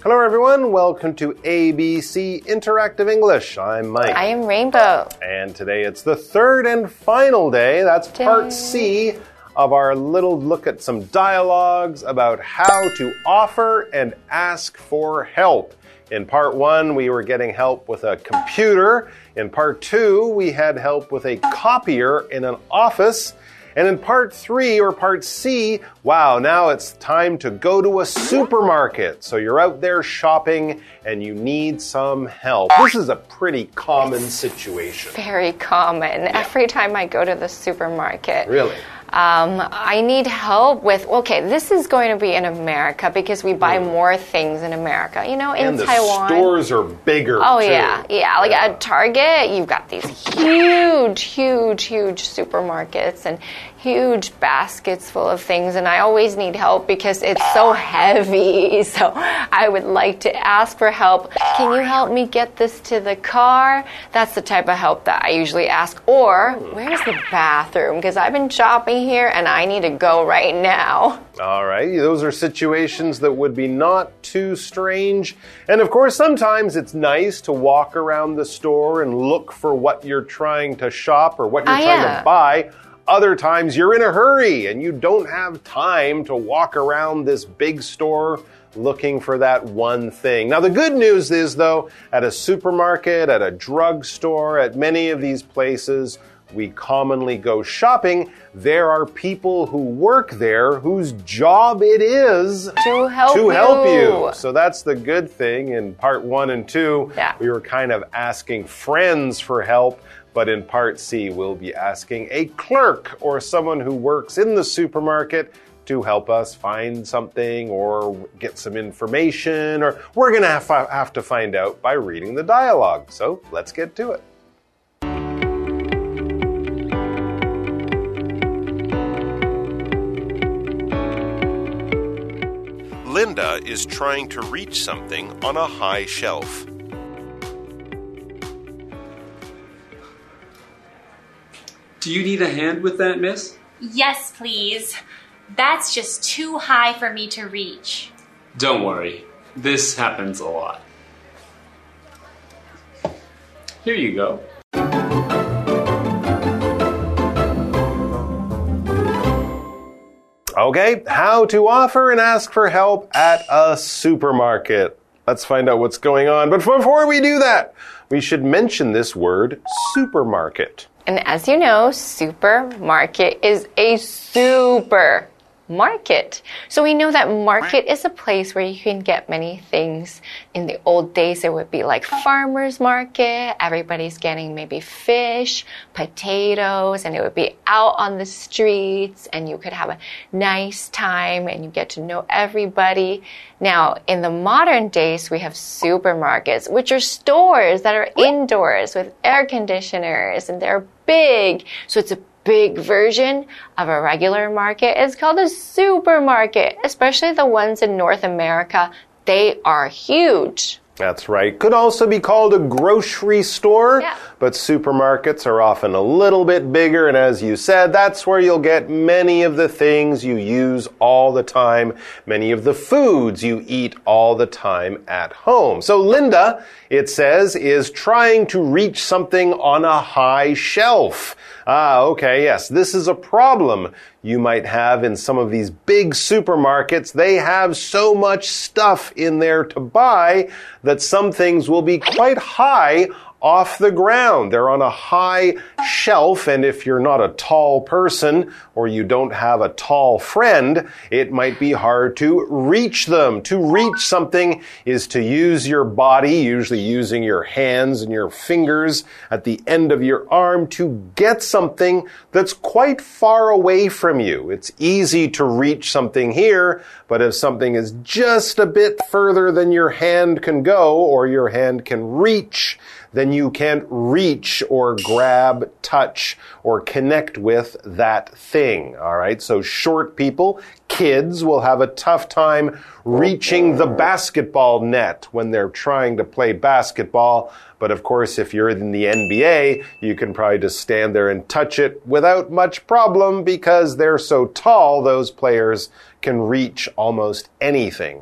Hello everyone, welcome to ABC Interactive English. I'm Mike. I am Rainbow. And today it's the third and final day, that's part C of our little look at some dialogues about how to offer and ask for help. In part 1, we were getting help with a computer. In part 2, we had help with a copier in an office. And in part 3 or part C, wow, now it's time to go to a supermarket. So you're out there shopping and you need some help. This is a pretty common situation. Very common. Yeah. Every time I go to the supermarket. Really? I need help with, okay, this is going to be in America because we buy more things in America. You know, in Taiwan. And the stores are bigger, Oh, too. yeah. Like at Target, you've got these huge supermarkets and huge baskets full of things. And I always need help because it's so heavy. So I would like to ask for help. Can you help me get this to the car? That's the type of help that I usually ask. Or, where's the bathroom? Because I've been shopping here and I need to go right now. All right, those are situations that would be not too strange. And of course, sometimes it's nice to walk around the store and look for what you're trying to shop or what you're trying to buy. Other times you're in a hurry and you don't have time to walk around this big store looking for that one thing. Now, the good news is, though, at a supermarket, at a drugstore, at many of these places we commonly go shopping, there are people who work there whose job it is to help you. So that's the good thing. In part 1 and 2, we were kind of asking friends for help. But in part C, we'll be asking a clerk or someone who works in the supermarket to help us find something or get some information, or we're going to have to find out by reading the dialogue. So let's get to it. Linda is trying to reach something on a high shelf. Do you need a hand with that, miss? Yes, please. That's just too high for me to reach. Don't worry. This happens a lot. Here you go. Okay, how to offer and ask for help at a supermarket. Let's find out what's going on. But before we do that, we should mention this word, supermarket. And as you know, supermarket is a supermarket. So we know that market is a place where you can get many things. In the old days, it would be like farmer's market. Everybody's getting maybe fish, potatoes, and it would be out on the streets, and you could have a nice time, and you get to know everybody. Now, in the modern days, we have supermarkets, which are stores that are indoors with air conditioners, and they're big. So it's a big version of a regular market. It's called a supermarket, especially the ones in North America. They are huge. That's right. Could also be called a grocery store, but supermarkets are often a little bit bigger. And as you said, that's where you'll get many of the things you use all the time, many of the foods you eat all the time at home. So Linda, it says, is trying to reach something on a high shelf. Okay, yes, this is a problem you might have in some of these big supermarkets. They have so much stuff in there to buy that some things will be quite high off the ground. They're on a high shelf, and if you're not a tall person or you don't have a tall friend, it might be hard to reach them. To reach something is to use your body, usually using your hands and your fingers at the end of your arm to get something that's quite far away from you. It's easy to reach something here, but if something is just a bit further than your hand can go or your hand can reach, then you can't reach or grab, touch, or connect with that thing. All right, so short people, kids, will have a tough time reaching the basketball net when they're trying to play basketball. But of course, if you're in the NBA, you can probably just stand there and touch it without much problem because they're so tall, those players can reach almost anything.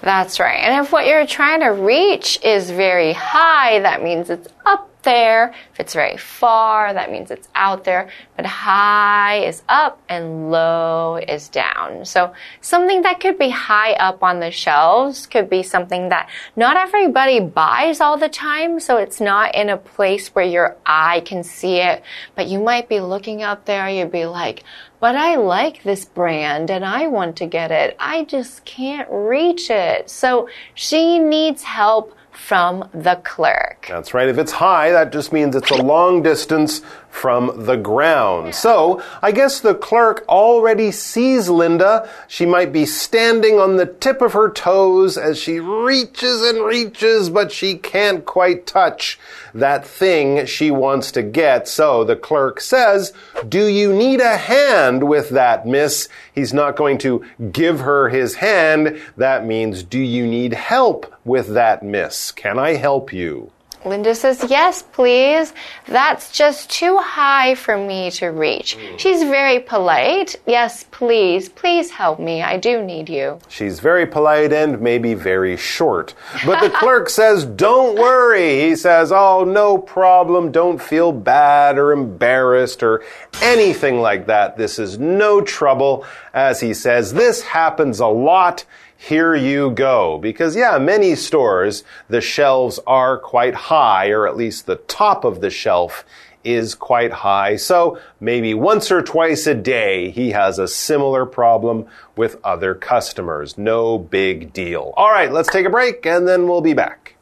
That's right. And if what you're trying to reach is very high, that means it's up there. If it's very far, that means it's out there. But high is up and low is down. So something that could be high up on the shelves could be something that not everybody buys all the time. So it's not in a place where your eye can see it. But you might be looking up there, you'd be like, but I like this brand and I want to get it. I just can't reach it. So she needs help from the clerk. That's right. If it's high, that just means it's a long distance from the ground. So I guess the clerk already sees Linda. She might be standing on the tip of her toes as she reaches and reaches, but she can't quite touch that thing she wants to get. So the clerk says, "Do you need a hand with that, miss?" He's not going to give her his hand. That means, do you need help with that, miss? Can I help you? Linda says, yes, please. That's just too high for me to reach. She's very polite. Yes, please. Please help me. I do need you. She's very polite and maybe very short. But the clerk says, don't worry. He says, oh, no problem. Don't feel bad or embarrassed or anything like that. This is no trouble. As he says, this happens a lot. Here you go. Because, yeah, many stores, the shelves are quite high, or at least the top of the shelf is quite high. So maybe once or twice a day, he has a similar problem with other customers. No big deal. All right, let's take a break, and then we'll be back.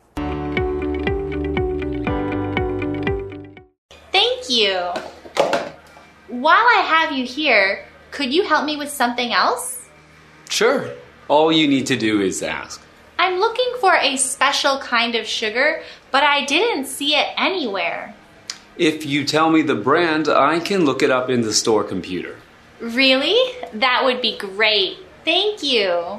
Thank you. While I have you here, could you help me with something else? Sure. All you need to do is ask. I'm looking for a special kind of sugar, but I didn't see it anywhere. If you tell me the brand, I can look it up in the store computer. Really? That would be great. Thank you.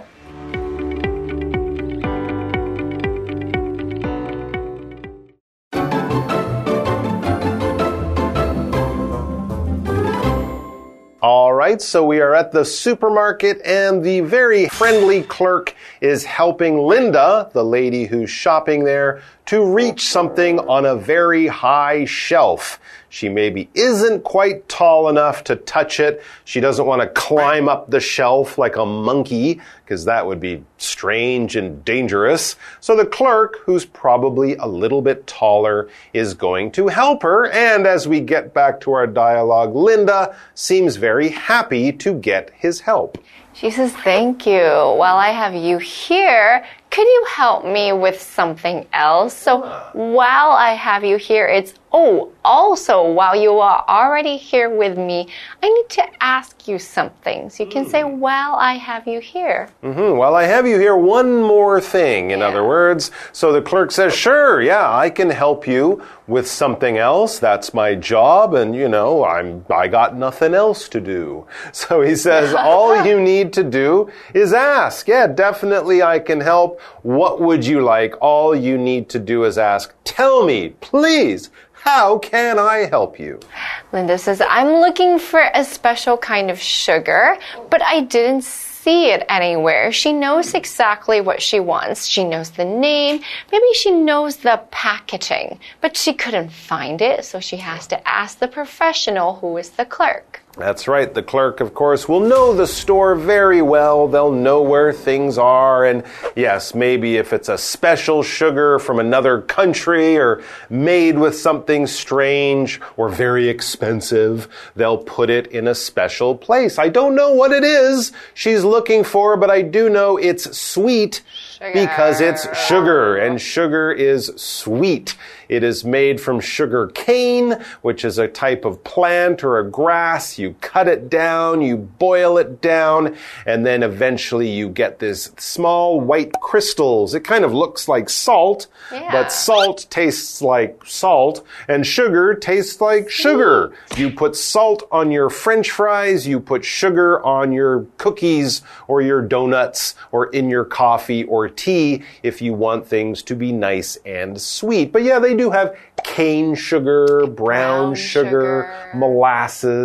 All right, so we are at the supermarket and the very friendly clerk is helping Linda, the lady who's shopping there, to reach something on a very high shelf. She maybe isn't quite tall enough to touch it. She doesn't want to climb up the shelf like a monkey, because that would be strange and dangerous. So the clerk, who's probably a little bit taller, is going to help her. And as we get back to our dialogue, Linda seems very happy to get his help. She says, thank you. While I have you here, could you help me with something else? So while I have you here, it's, oh, also, while you are already here with me, I need to ask you something. So you can say, while I have you here. While I have you here, one more thing, in other words. So the clerk says, sure, yeah, I can help you with something else. That's my job, and, you know, I got nothing else to do. So he says, all you need to do is ask. Yeah, definitely I can help. What would you like? All you need to do is ask. Tell me, please. How can I help you? Linda says, I'm looking for a special kind of sugar, but I didn't see it anywhere. She knows exactly what she wants. She knows the name. Maybe she knows the packaging, but she couldn't find it, so she has to ask the professional, who is the clerk. That's right. The clerk, of course, will know the store very well. They'll know where things are. And yes, maybe if it's a special sugar from another country or made with something strange or very expensive, they'll put it in a special place. I don't know what it is she's looking for, but I do know it's sweet because it's sugar, and sugar is sweet. It is made from sugar cane, which is a type of plant or a grass. You cut it down, you boil it down, and then eventually you get this small white crystals. It kind of looks like salt, but salt tastes like salt, and sugar tastes like sugar. You put salt on your French fries, you put sugar on your cookies or your donuts or in your coffee or tea if you want things to be nice and sweet. But yeah, they do have cane sugar, brown sugar, molasses,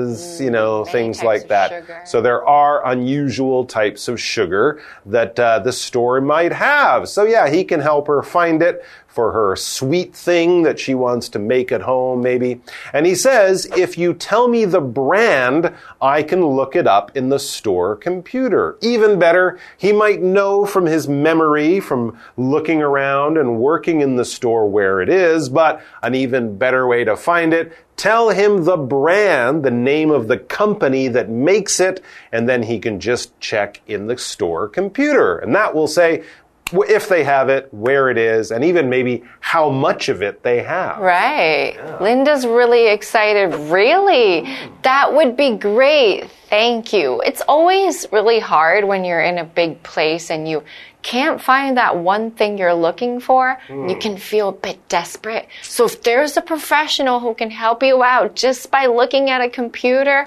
things like that. Sugar. So there are unusual types of sugar that the store might have. So yeah, he can help her find it for her sweet thing that she wants to make at home, maybe. And he says, if you tell me the brand, I can look it up in the store computer. Even better, he might know from his memory, from looking around and working in the store where it is, but an even better way to find it, tell him the brand, the name of the company that makes it, and then he can just check in the store computer. And that will say, if they have it, where it is, and even maybe how much of it they have. Right. Yeah. Linda's really excited. Really? That would be great. Thank you. It's always really hard when you're in a big place and you can't find that one thing you're looking for. You can feel a bit desperate. So if there's a professional who can help you out just by looking at a computer,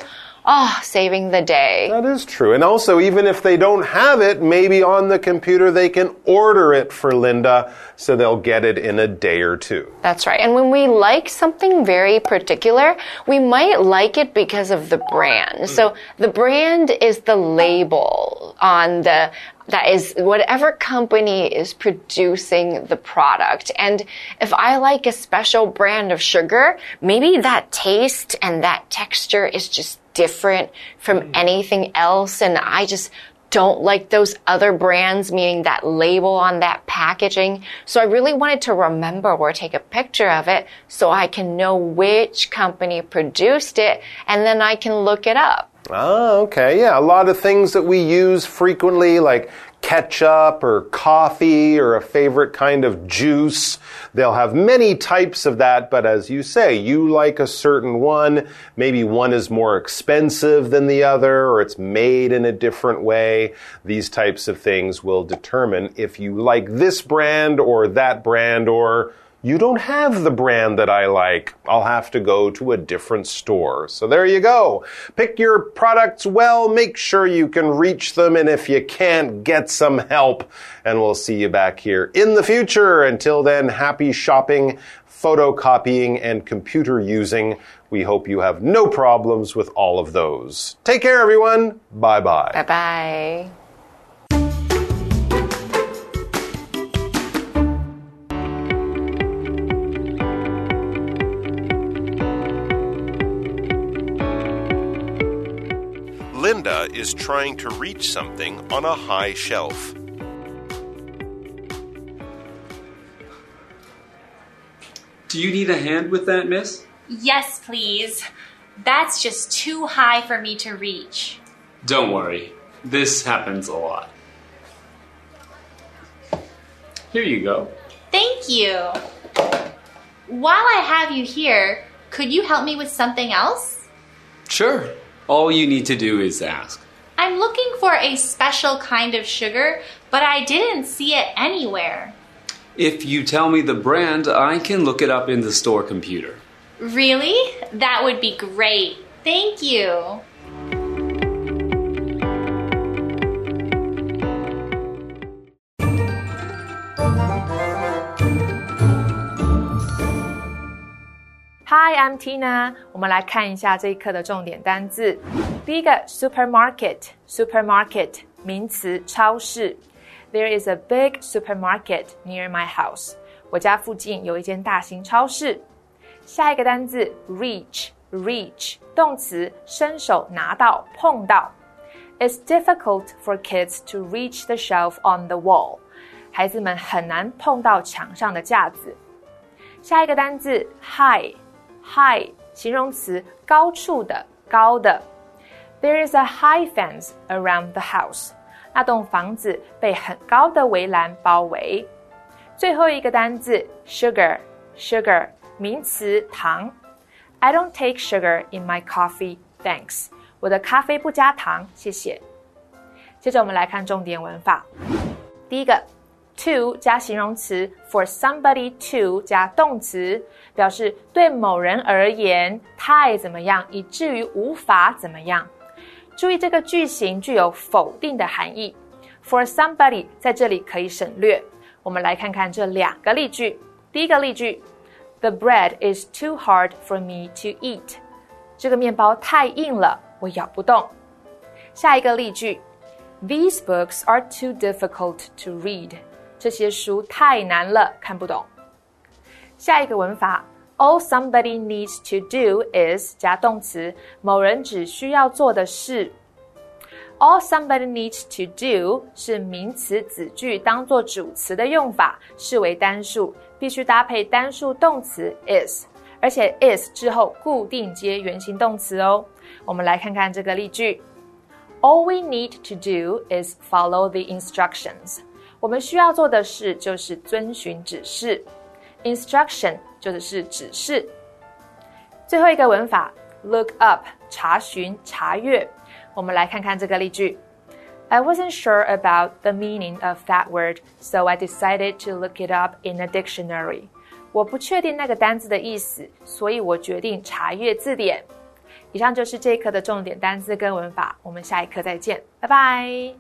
saving the day. That is true. And also, even if they don't have it, maybe on the computer they can order it for Linda so they'll get it in a day or two. That's right. And when we like something very particular, we might like it because of the brand. So the brand is the label on that is whatever company is producing the product. And if I like a special brand of sugar, maybe that taste and that texture is just different from anything else, and I just don't like those other brands, meaning that label on that packaging. So I really wanted to remember or take a picture of it so I can know which company produced it, and then I can look it up. Oh, okay. Yeah, a lot of things that we use frequently, like ketchup or coffee or a favorite kind of juice. They'll have many types of that, but as you say, you like a certain one. Maybe one is more expensive than the other, or it's made in a different way. These types of things will determine if you like this brand, or you don't have the brand that I like. I'll have to go to a different store. So there you go. Pick your products well. Make sure you can reach them. And if you can't, get some help. And we'll see you back here in the future. Until then, happy shopping, photocopying, and computer using. We hope you have no problems with all of those. Take care, everyone. Bye-bye. Bye-bye. Linda is trying to reach something on a high shelf. Do you need a hand with that, miss? Yes, please. That's just too high for me to reach. Don't worry. This happens a lot. Here you go. Thank you. While I have you here, could you help me with something else? Sure. All you need to do is ask. I'm looking for a special kind of sugar, but I didn't see it anywhere. If you tell me the brand, I can look it up in the store computer. Really? That would be great. Thank you. Hi, I'm Tina. 我们来看一下这一课的重点单字。第一个 supermarket 名詞超市。There is a big supermarket near my house. 我家附近有一間大型超市。下一個單字 reach 動詞伸手拿到碰到。It's difficult for kids to reach the shelf on the wall. 孩子們很難碰到牆上的架子。下一個單字 high 形容詞高處的高的。There is a high fence around the house. 那棟房子被很高的圍欄包圍。最後一個單字 sugar 名詞糖。I don't take sugar in my coffee, thanks. 我的咖啡不加糖，謝謝。接着我們來看重點文法。第一個to 加形容詞 for somebody to 加動詞，表示對某人而言太怎麼樣，以至於無法怎麼樣。注意這個句型具有否定的含義 for somebody 在這裡可以省略。我們來看看這兩個例句。第一個例句 The bread is too hard for me to eat. 這個麵包太硬了， 我咬不動。下一個例句 These books are too difficult to read. 這些書太難了，看不懂。下一個文法All somebody needs to do is 加動詞，某人只需要做的事。All somebody needs to do 是名詞子句當作主詞的用法，視為單數，必須搭配單數動詞 is， 而且 is 之後固定接原形動詞哦。我們來看看這個例句 All we need to do is follow the instructions. 我們需要做的事就是遵循指示。Instruction 就是指示。最後一個文法 look up 查詢查閱。我們來看看這個例句 I wasn't sure about the meaning of that word, so I decided to look it up in a dictionary. 我不確定那個單字的意思，所以我決定查閱字典。以上就是這一課的重點單字跟文法，我們下一課再見，拜拜。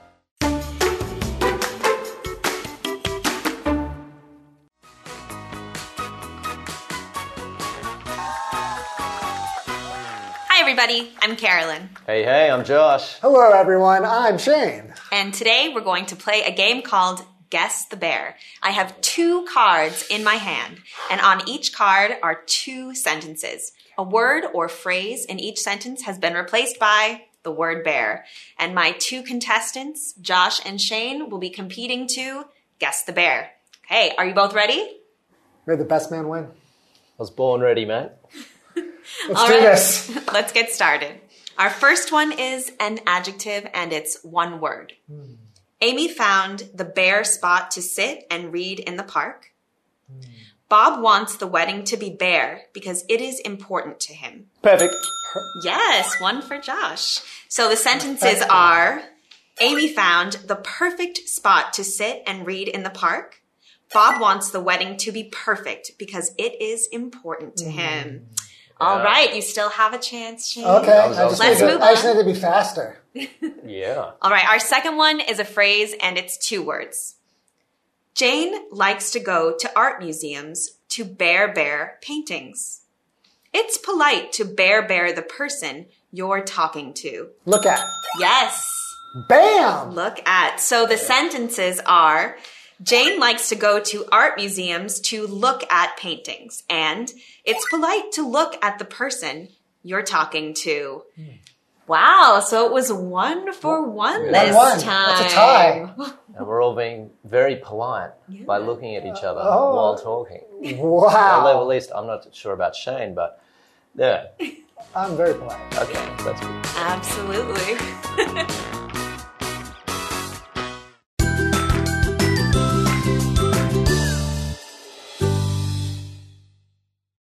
Hi everybody, I'm Carolyn. Hey, I'm Josh. Hello everyone, I'm Shane. And today we're going to play a game called Guess the Bear. I have 2 cards in my hand, and on each card are 2 sentences. A word or phrase in each sentence has been replaced by the word bear. And my 2 contestants, Josh and Shane, will be competing to guess the bear. Okay, are you both ready? May the best man win. I was born ready, mate. Let's do this. Let's get started. Our first one is an adjective, and it's 1 word. Amy found the bare spot to sit and read in the park. Bob wants the wedding to be bare because it is important to him. Perfect. Yes, 1 for Josh. So the sentences are, Amy found the perfect spot to sit and read in the park. Bob wants the wedding to be perfect because it is important to him. All right, you still have a chance, Shane. Okay, Let's move on. I just need to be faster. Yeah. All right, our second one is a phrase, and it's 2 words. Jane likes to go to art museums to bare paintings. It's polite to bare the person you're talking to. Look at. Yes. Bam! Look at. So the sentences are, Jane likes to go to art museums to look at paintings. And it's polite to look at the person you're talking to. Wow, so it was 1 for 1 this time. That's a tie. And we're all being very polite by looking at each other while talking. Wow. Although at least I'm not sure about Shane, but yeah. I'm very polite. Okay, that's good. Absolutely.